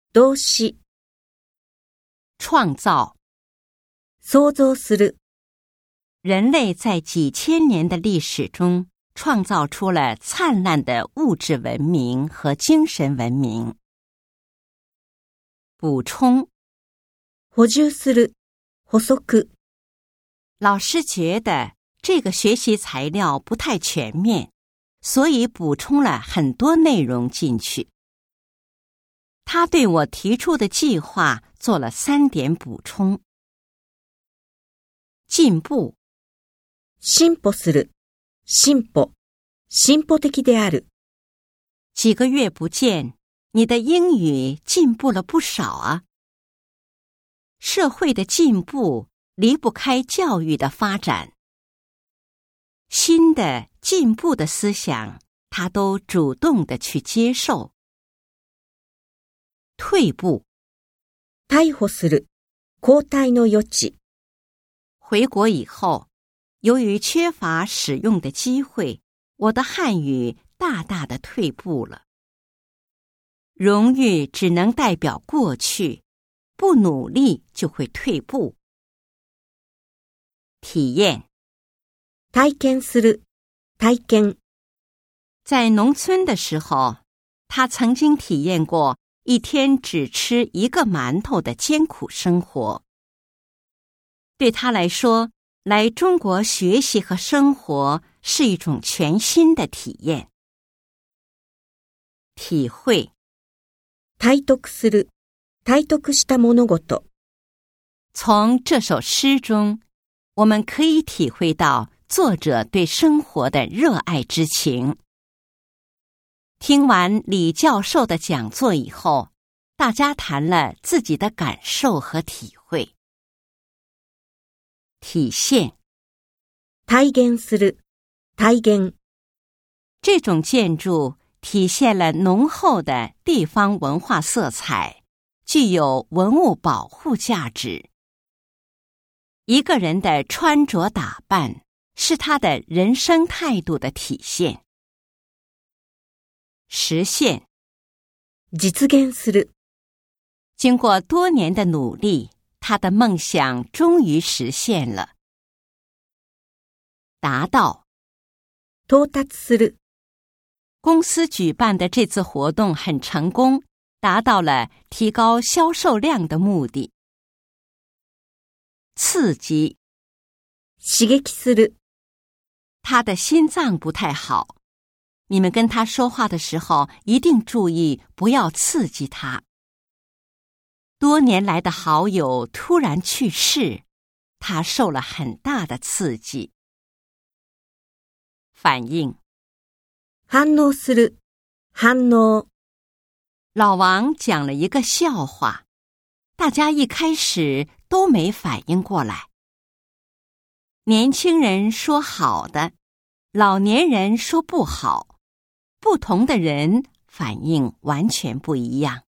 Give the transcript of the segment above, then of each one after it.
動詞、 创造。 想像する、 人类在几千年的历史中创造出了灿烂的物质文明和精神文明。补充。 補充する、補足。 老师觉得这个学习材料不太全面，所以补充了很多内容进去。他对我提出的计划做了3点补充。进步。 進歩する、進歩、進歩的である。 几个月不见，你的英语进步了不少啊。社会的进步离不开教育的发展。新的进步的思想，他都主动地去接受。退步。 逮捕する、交代の余地。 回国以后，由于缺乏使用的机会，我的汉语大大的退步了。荣誉只能代表过去，不努力就会退步。体验。 体験する、体験。 在农村的时候，他曾经体验过一天只吃1个馒头的艰苦生活。对他来说，来中国学习和生活是一种全新的体验。体会。 体得する、体得した物事。 从这首诗中，我们可以体会到作者对生活的热爱之情。听完李教授的讲座以后，大家谈了自己的感受和体会。体现。 体現する、体現。 这种建筑体现了浓厚的地方文化色彩，具有文物保护价值。一个人的穿着打扮是他的人生态度的体现。实现。 実現する。 经过多年的努力，他的梦想终于实现了。达到。 到達する。 公司举办的这次活动很成功，达到了提高销售量的目的。刺激。 刺激する。 他的心脏不太好，你们跟他说话的时候一定注意不要刺激他。多年来的好友突然去世，他受了很大的刺激。反应。 反応する、反応。 老王讲了一个笑话，大家一开始都没反应过来。年轻人说好的，老年人说不好，不同的人反应完全不一样。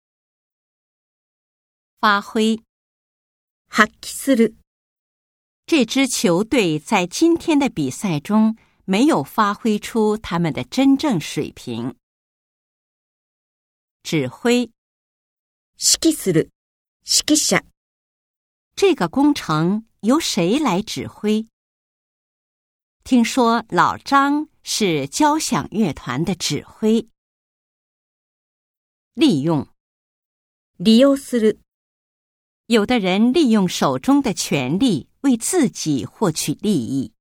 发挥。 発揮する。 这支球队在今天的比赛中没有发挥出他们的真正水平。指挥。 指揮する、指揮者。 这个工程由谁来指挥？听说老张是交响乐团的指挥。利用。 利用する。 有的人利用手中的权力为自己获取利益。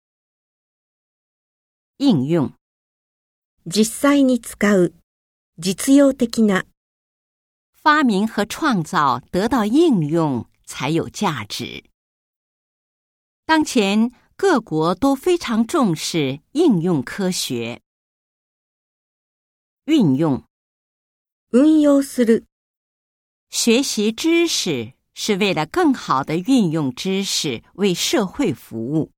应用。 実際に使う、実用的な。 发明和创造得到应用才有价值。当前各国都非常重视应用科学。运用。 運用する。 学习知识是为了更好地运用知识为社会服务。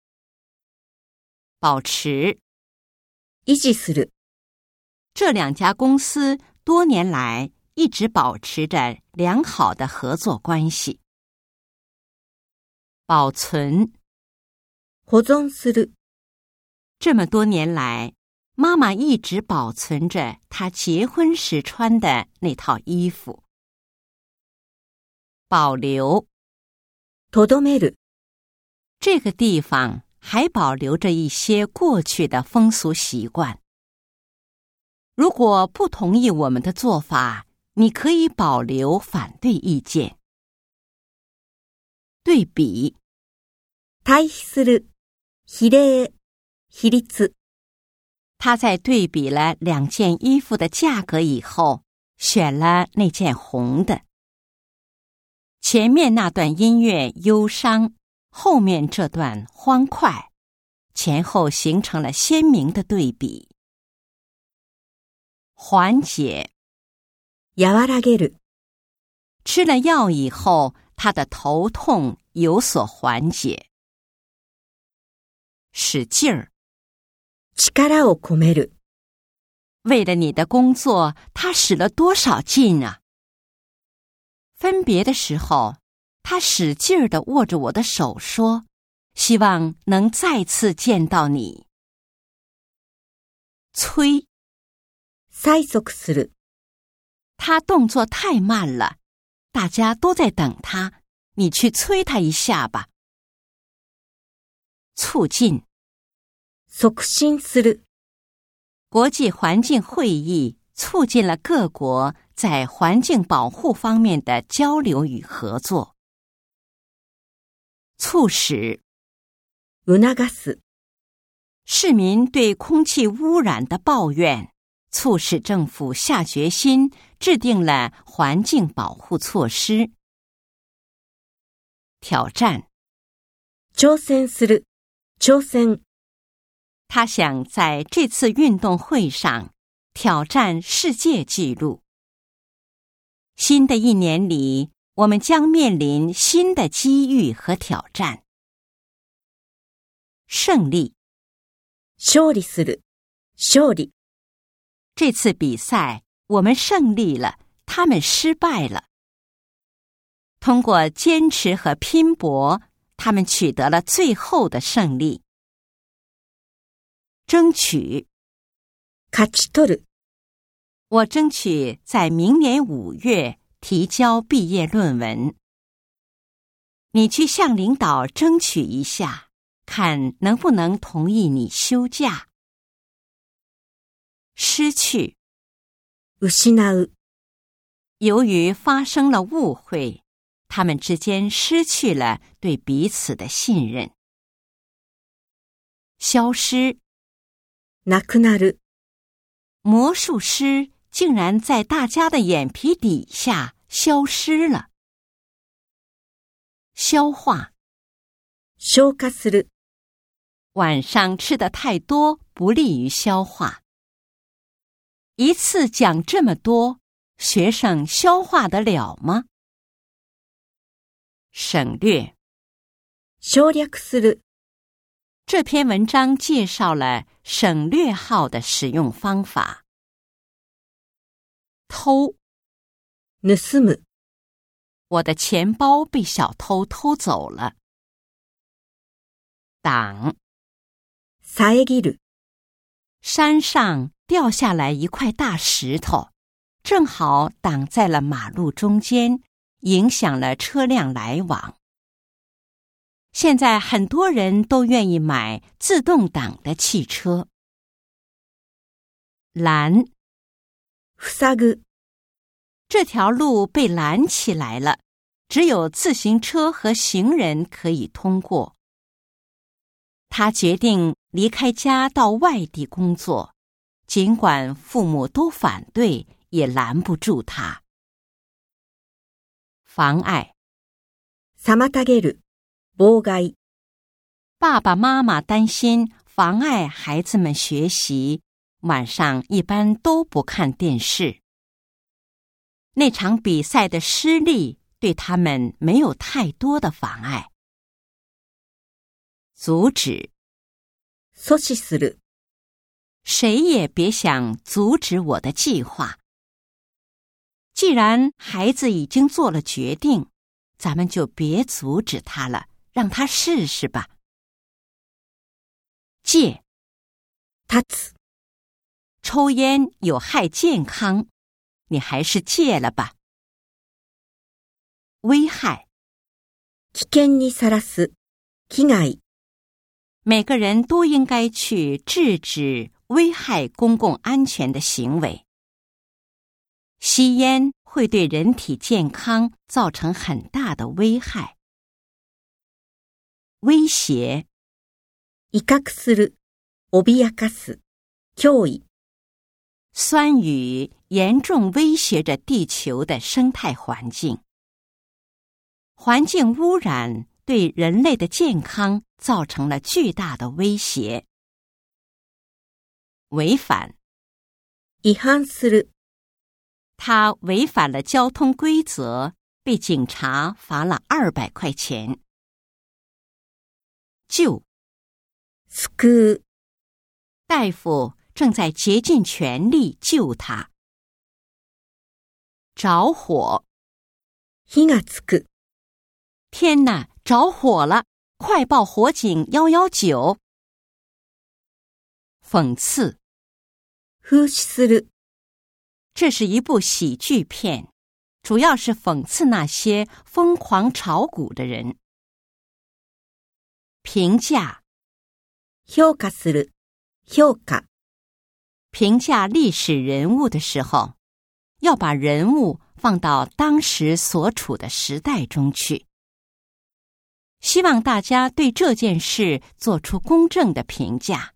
保持。 維持する。 这2家公司多年来一直保持着良好的合作关系。保存。 保存する。 这么多年来，妈妈一直保存着她结婚时穿的那套衣服。 保留。 とどめる。 这个地方还保留着一些过去的风俗习惯。如果不同意我们的做法，你可以保留反对意见。对比。 対比する。比例。比率。 他在对比了2件衣服的价格以后，选了那件红的。前面那段音乐忧伤，后面这段欢快，前后形成了鲜明的对比。缓解。 和らげる。 吃了药以后，他的头痛有所缓解。使劲儿。 力を込める。 为了你的工作，他使了多少劲啊！分别的时候，他使劲儿地握着我的手说：“希望能再次见到你。”催。 催促する。 他动作太慢了，大家都在等他，你去催他一下吧。促进。 促進する。 国际环境会议促进了各国在环境保护方面的交流与合作。促使。 促す。 市民对空气污染的抱怨，促使政府下决心制定了环境保护措施。挑战。 挑戦する。挑戦。 他想在这次运动会上挑战世界纪录。新的一年里，我们将面临新的机遇和挑战。胜利。 勝利する。勝利。 这次比赛我们胜利了，他们失败了。通过坚持和拼搏，他们取得了最后的胜利。争取。 勝ち取る。 我争取在明年5月提交毕业论文。你去向领导争取一下，看能不能同意你休假。失去。 失う。 由于发生了误会，他们之间失去了对彼此的信任。消失。 なくなる。 魔术师竟然在大家的眼皮底下消失了。消化。 消化する。 晚上吃的太多不利于消化。一次讲这么多，学生消化得了吗？省略。 省略する。 这篇文章介绍了省略号的使用方法。偷。 盗む。 我的钱包被小偷偷走了。挡。 遮る。 山上掉下来一块大石头，正好挡在了马路中间，影响了车辆来往。现在很多人都愿意买自动挡的汽车。拦。 塞ぐ。 这条路被拦起来了，只有自行车和行人可以通过。他决定离开家到外地工作，尽管父母都反对，也拦不住他。妨碍。 妨げる。妨害。 爸爸妈妈担心妨碍孩子们学习，晚上一般都不看电视。那场比赛的失利对他们没有太多的妨碍。阻止。 阻止する。 谁也别想阻止我的计划。既然孩子已经做了决定，咱们就别阻止他了，让他试试吧。戒。 断つ。 抽烟有害健康，你还是戒了吧。 危害。 危険にさらす、危害。 每个人都应该去制止危害公共安全的行为。吸烟会对人体健康造成很大的危害。威胁。 威嚇する、脅かす、脅威。 酸雨严重威胁着地球的生态环境。环境污染对人类的健康造成了巨大的威胁。违反。 違反する。 他违反了交通规则，被警察罚了200块钱。救。 救う。 大夫正在竭尽全力救他。着火。 火がつく。 天哪，着火了！快报火警119。讽刺。 風刺する。 这是一部喜剧片，主要是讽刺那些疯狂炒股的人。评价。 評価する、評価。 评价历史人物的时候，要把人物放到当时所处的时代中去。希望大家对这件事做出公正的评价。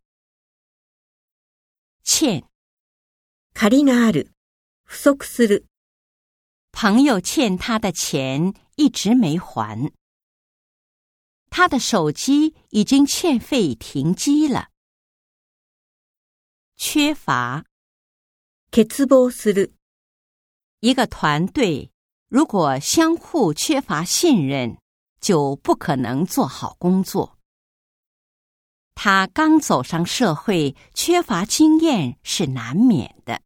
欠。 借りがある、不足する。 朋友欠他的钱一直没还。他的手机已经欠费停机了。缺乏。 欠乏する。 一个团队如果相互缺乏信任，就不可能做好工作。他刚走上社会，缺乏经验是难免的。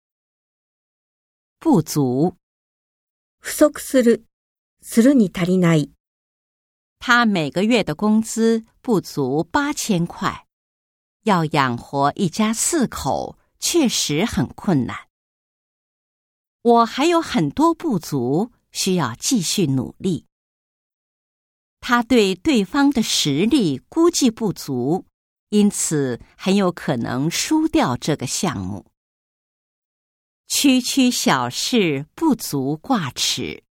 不足。 不足する、するに足りない。 他每个月的工资不足8000块，要养活一家4口，确实很困难。我还有很多不足，需要继续努力。他对对方的实力估计不足，因此很有可能输掉这个项目。区区小事不足挂齿。